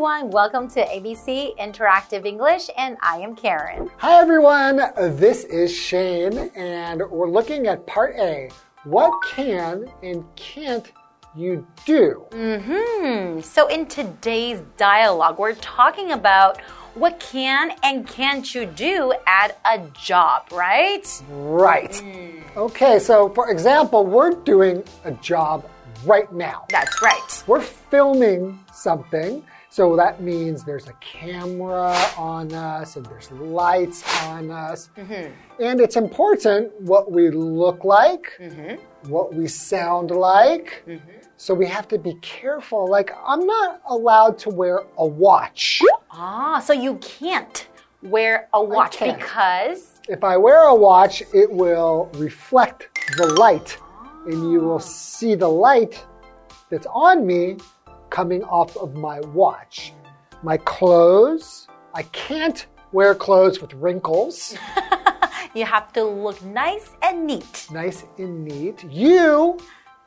everyone, welcome to ABC Interactive English, and I am Karen. Hi everyone, this is Shane, and we're looking at part A. What can and can't you do? So in today's dialogue, we're talking about what can and can't you do at a job, right? Right. Okay, so for example, we're doing a job right now. That's right. We're filming something, so that means there's a camera on us and there's lights on us. And it's important what we look like, what we sound like. So we have to be careful. Like, I'm not allowed to wear a watch. So you can't wear a watch because? If I wear a watch, it will reflect the light. And you will see the light that's on me coming off of my watch. My clothes, I can't wear clothes with wrinkles. You have to look nice and neat. Nice and neat. You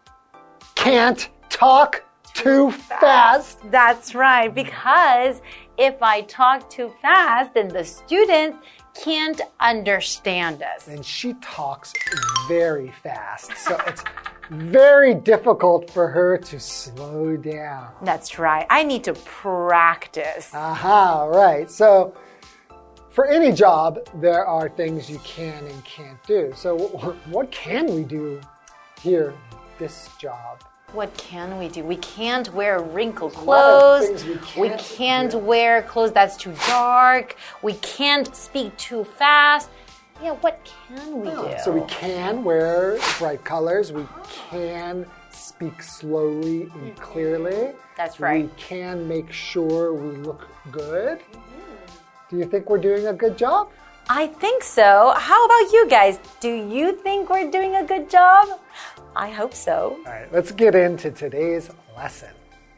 can't talk too fast. That's right, because if I talk too fast, then the students can't understand us. And she talks very fast, so it's very difficult for her to slow down. That's right. I need to practice. Right. So for any job, there are things you can and can't do. So what can we do here, this job? What can we do? We can't wear wrinkled clothes. We can't wear clothes that's too dark. We can't speak too fast. Yeah, what can we do? So we can wear bright colors. We can speak slowly and clearly. That's right. We can make sure we look good. Do you think we're doing a good job? I think so. How about you guys? Do you think we're doing a good job? I hope so. All right, let's get into today's lesson.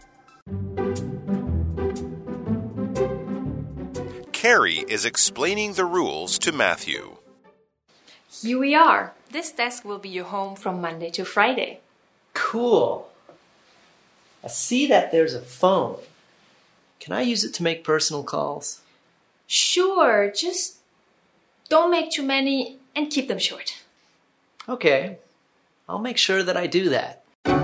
Carrie is explaining the rules to Matthew. Here we are. This desk will be your home from Monday to Friday. Cool. I see that there's a phone. Can I use it to make personal calls? Sure, just don't make too many and keep them short. Okay. I'll make sure that I do that.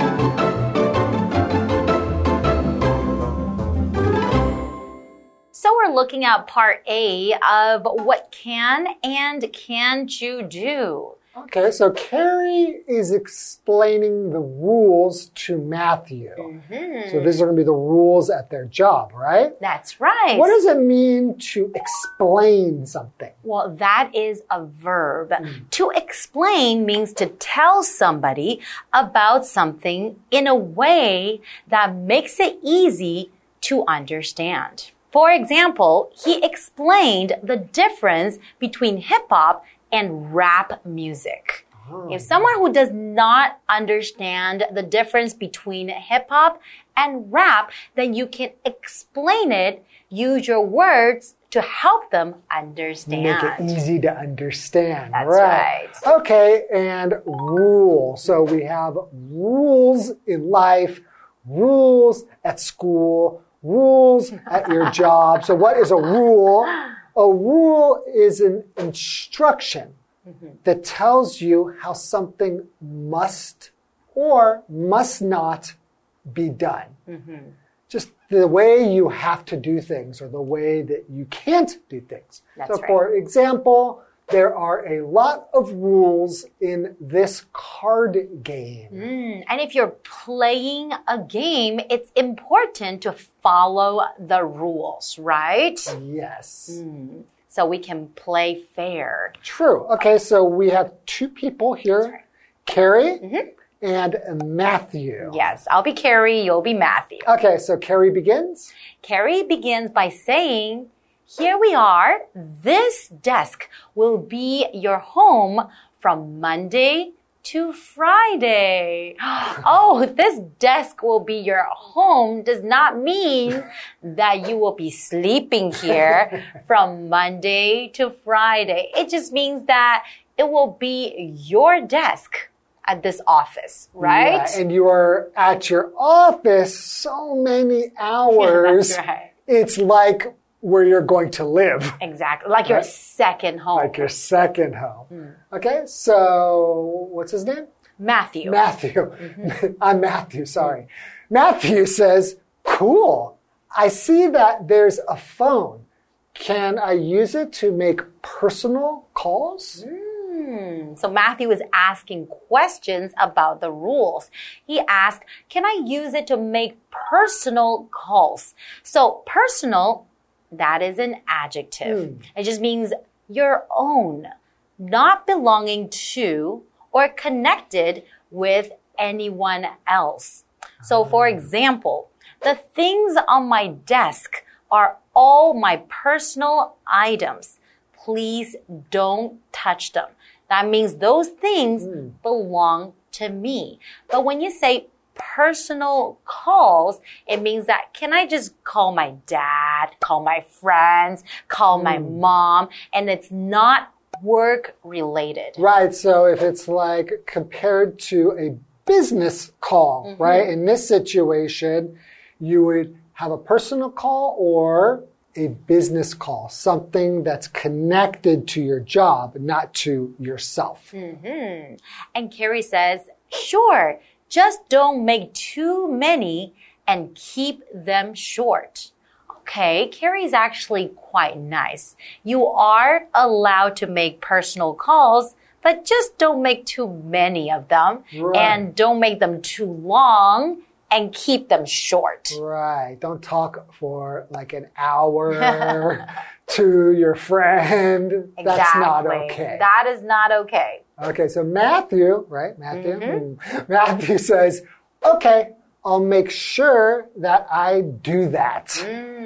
So we're looking at part A of what can and can't you do. Okay, so Carrie is explaining the rules to Matthew. So these are going to be the rules at their job, right? That's right. What does it mean to explain something? Well, that is a verb. To explain means to tell somebody about something in a way that makes it easy to understand. For example, he explained the difference between hip-hop and rap music. If someone who does not understand the difference between hip-hop and rap, then you can explain it, use your words to help them understand. Make it easy to understand. That's right. Okay, and rule. So we have rules in life, rules at school, rules at your job. So what is a rule? A rule is an instruction that tells you how something must or must not be done. Just the way you have to do things or the way that you can't do things. That's right. For example, there are a lot of rules in this card game. And if you're playing a game, it's important to follow the rules, right? Yes. So we can play fair. True. Okay, so we have two people here, Carrie and Matthew. Yes, I'll be Carrie, you'll be Matthew. Okay, so Carrie begins. Carrie begins by saying, here we are. This desk will be your home from Monday to Friday. Oh, this desk will be your home does not mean that you will be sleeping here from Monday to Friday. It just means that it will be your desk at this office, right? Yeah, and you are at your office so many hours. Yeah, that's right. It's like where you're going to live. Exactly. Like your second home. Like your second home. Okay, so what's his name? Matthew. Matthew. I'm Matthew, sorry. Matthew says, cool. I see that there's a phone. Can I use it to make personal calls? So Matthew is asking questions about the rules. He asked, can I use it to make personal calls? So personal, that is an adjective. It just means your own, not belonging to or connected with anyone else. So for example, the things on my desk are all my personal items. Please don't touch them. That means those things belong to me. But when you say personal calls, it means that can I just call my dad, call my friends, call my mom, and it's not work related. Right, so if it's like compared to a business call, right? In this situation, you would have a personal call or a business call, something that's connected to your job, not to yourself. And Carrie says, sure, just don't make too many and keep them short. Okay, Carrie's actually quite nice. You are allowed to make personal calls, but just don't make too many of them and don't make them too long and keep them short. Right. Don't talk for like an hour to your friend. Exactly. That's not okay. That is not okay. Okay, so Matthew, right? Matthew? Matthew says, okay, I'll make sure that I do that.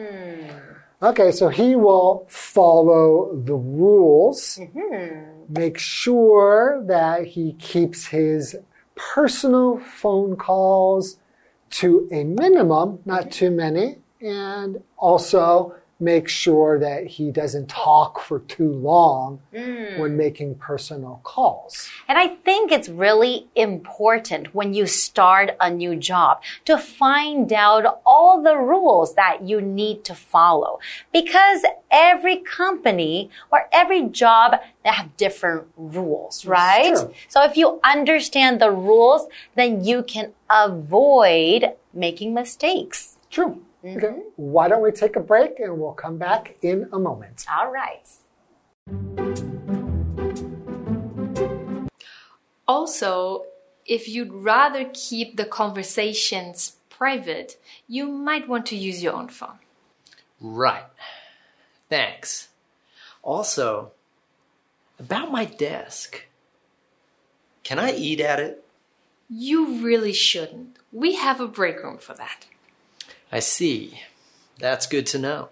Okay, so he will follow the rules, make sure that he keeps his personal phone calls to a minimum, not too many, and also make sure that he doesn't talk for too long when making personal calls. And I think it's really important when you start a new job to find out all the rules that you need to follow. Because every company or every job, they have different rules, right? True. So if you understand the rules, then you can avoid making mistakes. True. Okay, why don't we take a break and we'll come back in a moment. All right. Also, if you'd rather keep the conversations private, you might want to use your own phone. Right. Thanks. Also, about my desk. Can I eat at it? You really shouldn't. We have a break room for that. I see. That's good to know.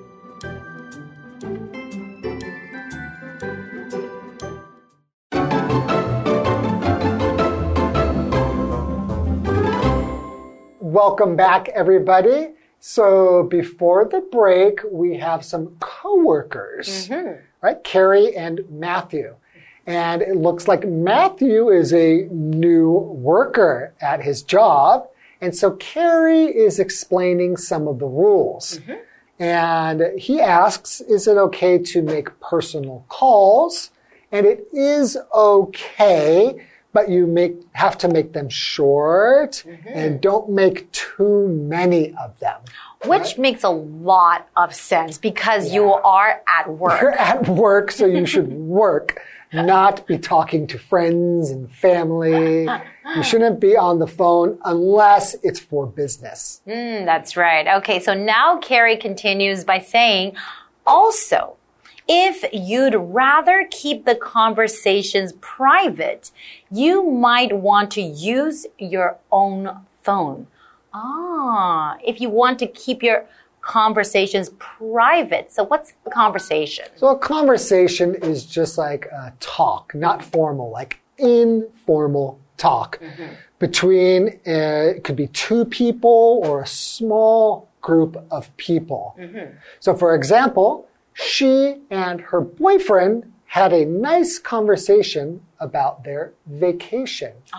Welcome back, everybody. So before the break, we have some coworkers, right? Carrie and Matthew. And it looks like Matthew is a new worker at his job. And so Carrie is explaining some of the rules. And he asks, is it okay to make personal calls? And it is okay, but you have to make them short and don't make too many of them. Which makes a lot of sense because you are at work. You're at work, so you should work, not be talking to friends and family. You shouldn't be on the phone unless it's for business. That's right. Okay, so now Carrie continues by saying, also, if you'd rather keep the conversations private, you might want to use your own phone. If you want to keep your conversations private. So what's the conversation? So a conversation is just like a talk, not formal, like informal talk between, it could be two people or a small group of people. So for example, she and her boyfriend had a nice conversation about their vacation.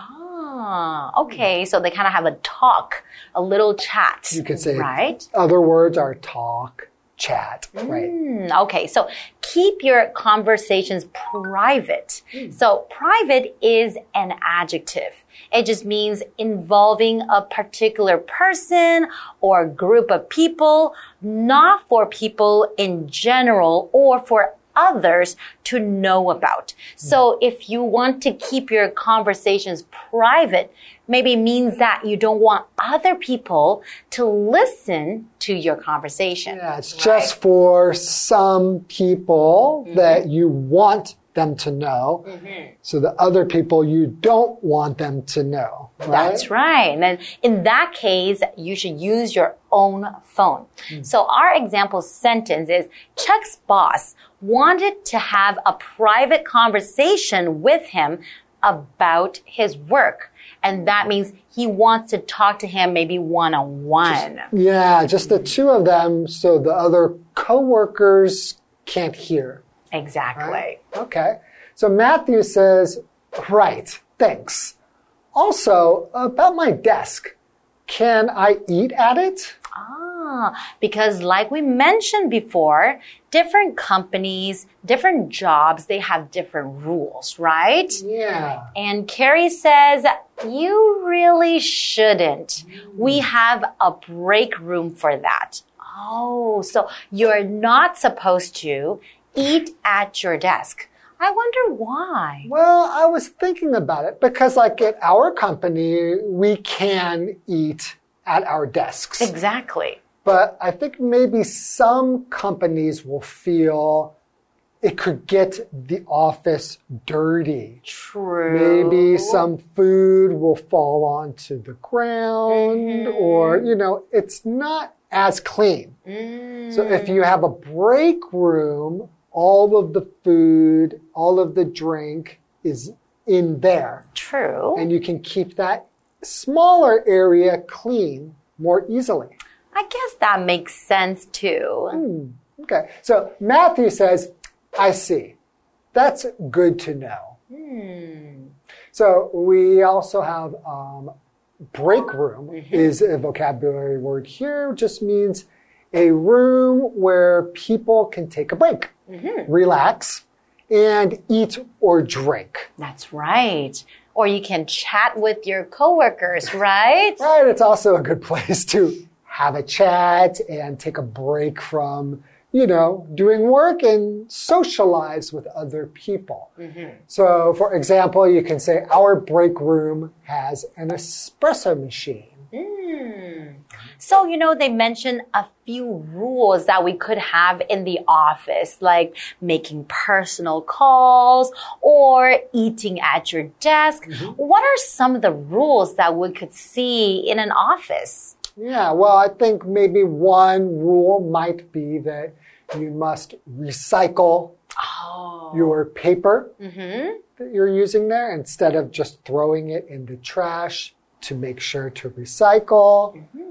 Okay. So they kind of have a talk, a little chat. You could say, right? Other words are talk, chat, right? Okay, so keep your conversations private. So private is an adjective. It just means involving a particular person or group of people, not for people in general or for others to know about. So if you want to keep your conversations private, maybe it means that you don't want other people to listen to your conversation. Yeah, it's just for some people that you want them to know. So the other people you don't want them to know. Right? That's right. And then in that case, you should use your own phone. So our example sentence is, Chuck's boss wanted to have a private conversation with him about his work. And that means he wants to talk to him maybe one-on-one. Yeah, just the two of them so the other coworkers can't hear. Exactly. Right? Okay. So Matthew says, right, thanks. Also, about my desk, can I eat at it? Because like we mentioned before, different companies, different jobs, they have different rules, right? Yeah. And Carrie says, you really shouldn't. We have a break room for that. Oh, so you're not supposed to eat at your desk. I wonder why. Well, I was thinking about it because like at our company, we can eat at our desks. Exactly. But I think maybe some companies will feel it could get the office dirty. True. Maybe some food will fall onto the ground or, you know, it's not as clean. So if you have a break room, all of the food, all of the drink is in there. True. And you can keep that smaller area clean more easily. I guess that makes sense too. Okay. So Matthew says, I see. That's good to know. So we also have break room is a vocabulary word here. Just means a room where people can take a break, relax, and eat or drink. That's right. Or you can chat with your coworkers, right? Right. It's also a good place to have a chat and take a break from, you know, doing work and socialize with other people. So, for example, you can say, our break room has an espresso machine. So, you know, they mentioned a few rules that we could have in the office, like making personal calls or eating at your desk. What are some of the rules that we could see in an office? Yeah, well, I think maybe one rule might be that you must recycle your paper that you're using there instead of just throwing it in the trash to make sure to recycle.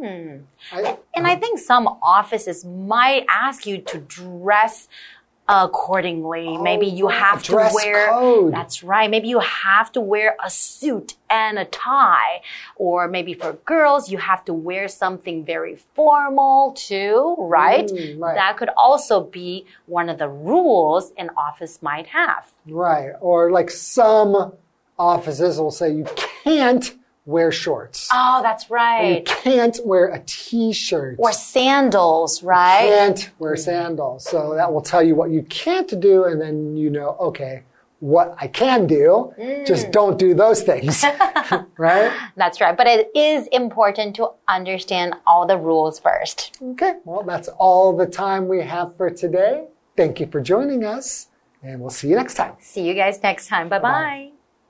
And I think some offices might ask you to dress accordingly. Maybe you have to dress wear, code. that's right. Maybe you have to wear a suit and a tie. Or maybe for girls, you have to wear something very formal too, right? Right. That could also be one of the rules an office might have. Right. Or like some offices will say you can't wear shorts. Oh, that's You right. can't wear a t-shirt. Or sandals, right? Can't wear sandals. So that will tell you what you can't do, and then you know, okay, what I can do, just don't do those things. Right? That's right. But it is important to understand all the rules first. Okay, well, that's all the time we have for today. Thank you for joining us, and we'll see you next time. See you guys next time. Bye-bye.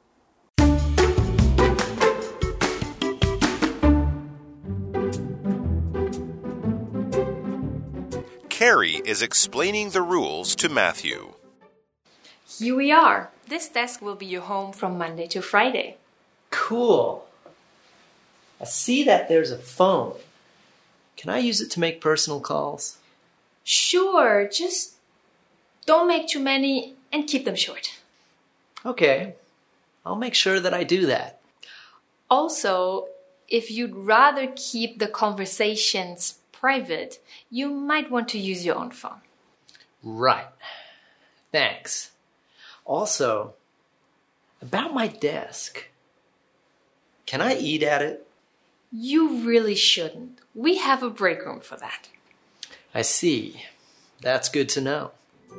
Carrie is explaining the rules to Matthew. Here we are. This desk will be your home from Monday to Friday. Cool. I see that there's a phone. Can I use it to make personal calls? Sure, just don't make too many and keep them short. Okay. I'll make sure that I do that. Also, if you'd rather keep the conversations private, you might want to use your own phone. Right. Thanks. Also, about my desk. Can I eat at it? You really shouldn't. We have a break room for that. I see. That's good to know.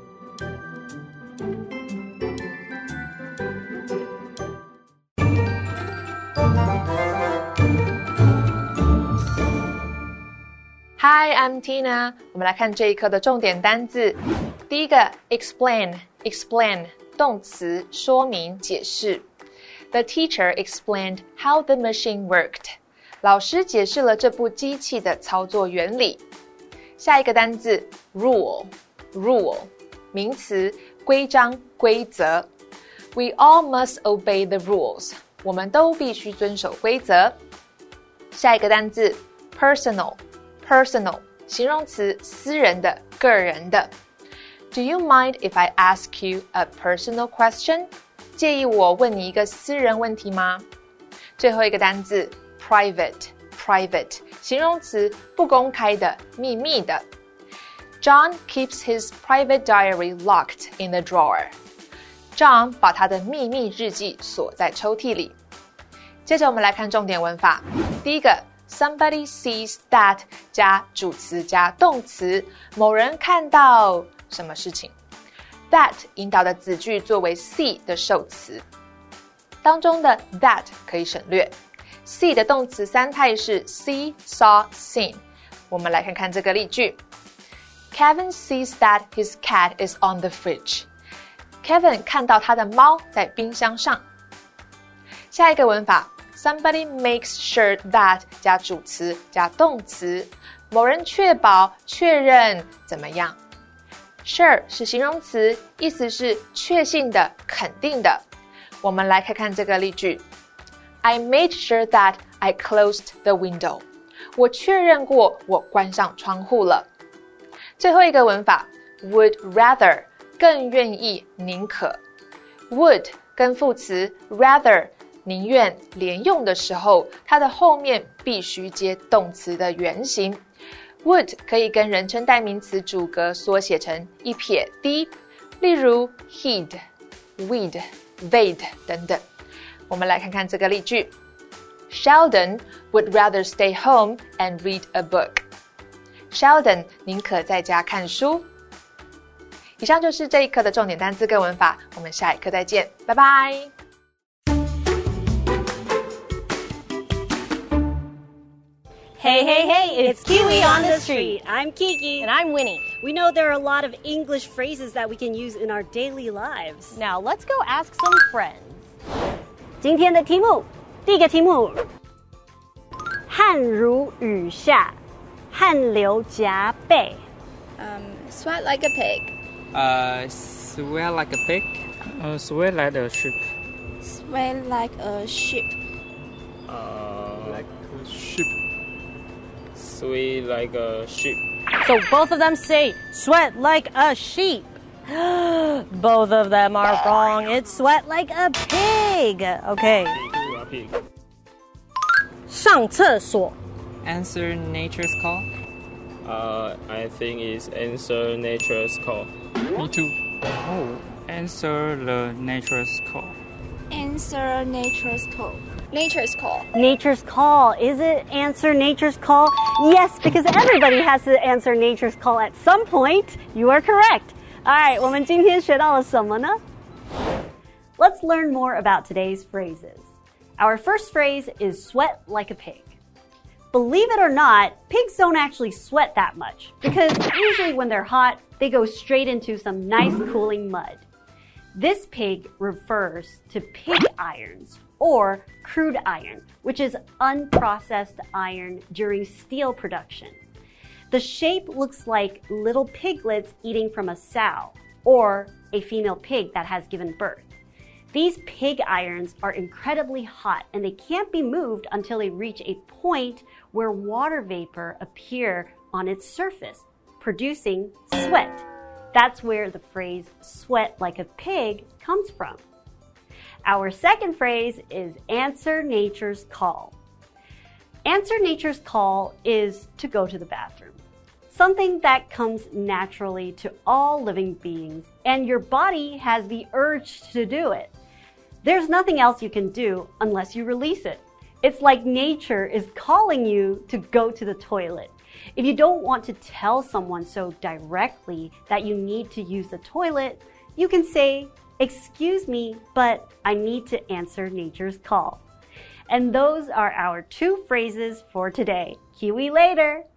Hi, I'm Tina. 我们来看这一课的重点单字。第一个 explain 动词说明解释。The teacher explained how the machine worked. 老師解釋了這部機器的操作原理。下一個單字 rule 名詞規章規則。We all must obey the rules. 我們都必須遵守規則。下一個單字 personal 形容詞私人的個人的。Do you mind if I ask you a personal question? 介意我問你一個私人問題嗎？最後一個單字 private 形容詞不公開的秘密的。John keeps his private diary locked in the drawer. John 把他的秘密日記鎖在抽屜裡。接着我們來看重點文法。第一個Somebody sees that 加主詞加動詞，某人看到什麼事情。That 引導的子句作為 see 的受詞，當中的 that 可以省略。see 的動詞三態是 see, saw, seen。我們來看看這個例句。Kevin sees that his cat is on the fridge. Kevin 看到他的貓在冰箱上。下一個文法。Somebody makes sure that 加主詞加動詞，某人確保確認怎麼樣。Sure 是形容詞，意思是確信的肯定的。我們來看看這個例句。I made sure that I closed the window. 我確認過我關上窗戶了。最後一個文法 would rather 更願意寧可。would 跟副詞 rather寧願連用的時候，它的後面必須接動詞的原形。would 可以跟人稱代名詞主格縮寫成一撇 d， 例如 he'd, we'd, they'd 等等。我們來看看這個例句。Sheldon would rather stay home and read a book. Sheldon 寧可在家看書。以上就是這一課的重點單字跟文法，我們下一課再見，拜拜。 Hey, it's Kiwi on the street. I'm Kiki. And I'm Winnie. We know there are a lot of English phrases that we can use in our daily lives. Now let's go ask some friends. 今天的题目，第一個題目，汗如雨下，汗流浹背。 Sweat like a pig. Sweat like a pig. Sweat like a sheep. Sweat like a sheep. Like a sheep. Sweat like a sheep. So both of them say sweat like a sheep. Both of them are wrong. It's sweat like a pig. Okay. Pig. 上廁所。 Answer nature's call. I think it's answer nature's call. Me too. Oh, answer the nature's call. Answer nature's call. Nature's call. Nature's call. Is it answer nature's call? Yes, because everybody has to answer nature's call at some point. You are correct. All right, 我們今天學到了什麼呢? Let's learn more about today's phrases. Our first phrase is sweat like a pig. Believe it or not, pigs don't actually sweat that much because usually when they're hot, they go straight into some nice cooling mud. This pig refers to pig irons or crude iron, which is unprocessed iron during steel production. The shape looks like little piglets eating from a sow or a female pig that has given birth. These pig irons are incredibly hot and they can't be moved until they reach a point where water vapor appear on its surface, producing sweat. That's where the phrase sweat like a pig comes from. Our second phrase is answer nature's call. Answer nature's call is to go to the bathroom. Something that comes naturally to all living beings, and your body has the urge to do it. There's nothing else you can do unless you release it. It's like nature is calling you to go to the toilet. If you don't want to tell someone so directly that you need to use the toilet, you can say, "Excuse me, but I need to answer nature's call." And those are our 2 phrases for today. Kiwi later!